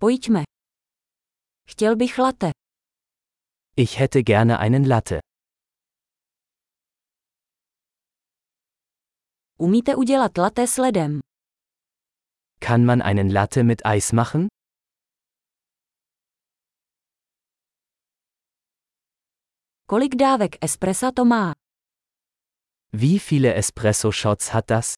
Pojďme. Chtěl bych latte. Ich hätte gerne einen Latte. Umíte udělat latte s ledem? Kann man einen Latte mit Eis machen? Kolik dávek espressa to má? Wie viele Espresso-Shots hat das?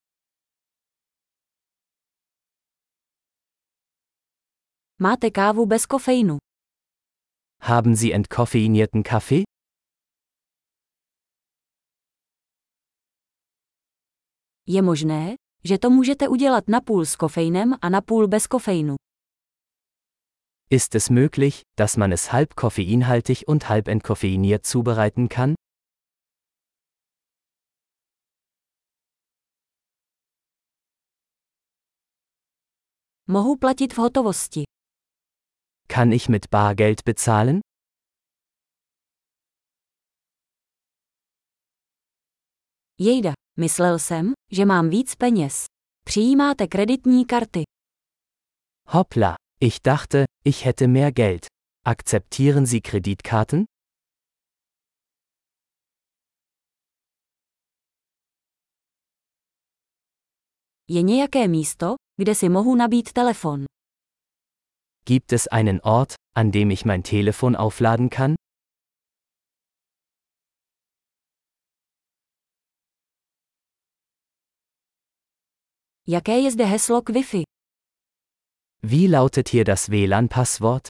Máte kávu bez kofeinu? Haben Sie entkoffeinierten Kaffee? Je možné, že to můžete udělat napůl s kofeinem a napůl bez kofeinu. Ist es möglich, dass man es halb koffeinhaltig und halb entkoffeiniert zubereiten kann? Mohu platit v hotovosti. Kann ich mit Bargeld bezahlen? Jejda, myslel jsem, že mám víc peněz. Přijímáte kreditní karty. Hoppla, ich dachte, ich hätte mehr Geld. Akzeptieren Sie Kreditkarten? Je nějaké místo, kde si mohu nabít telefon. Gibt es einen Ort, an dem ich mein Telefon aufladen kann? Jaké je zde heslo k Wi-Fi? Wie lautet hier das WLAN-Passwort?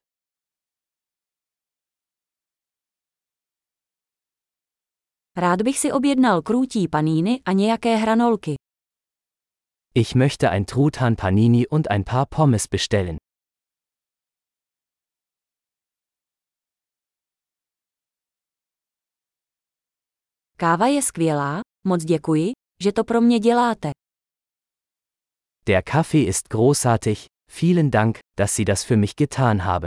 Rád bych si objednal krůtí paníny a nějaké hranolky. Ich möchte ein Truthahn Panini und ein paar Pommes bestellen. Káva je skvělá, moc děkuji, že to pro mě děláte. Der Kaffee ist großartig, vielen Dank, dass Sie das für mich getan haben.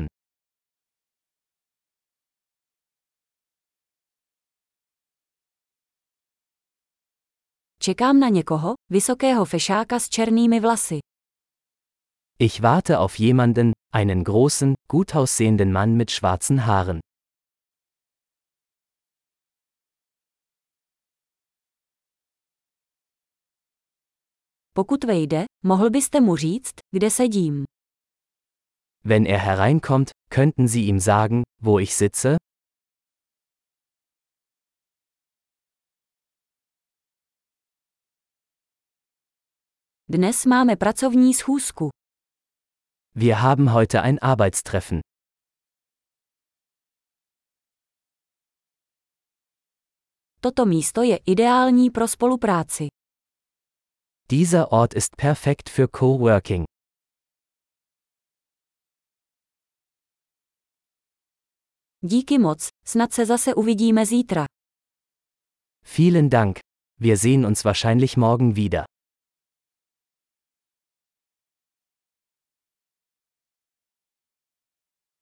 Čekám na někoho, vysokého fešáka s černými vlasy. Ich warte auf jemanden, einen großen, gut aussehenden Mann mit schwarzen Haaren. Pokud vejde, mohl byste mu říct, kde sedím. Wenn er hereinkommt, könnten Sie ihm sagen, wo ich sitze? Dnes máme pracovní schůzku. Wir haben heute ein Arbeitstreffen. Toto místo je ideální pro spolupráci. Dieser Ort ist perfekt für Coworking. Díky moc, snad se zase uvidíme zítra. Vielen Dank. Wir sehen uns wahrscheinlich morgen wieder.